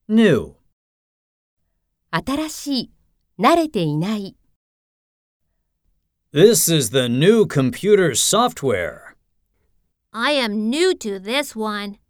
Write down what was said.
new, 新しい、慣れていない。 This is the new computer software. I am new to this one.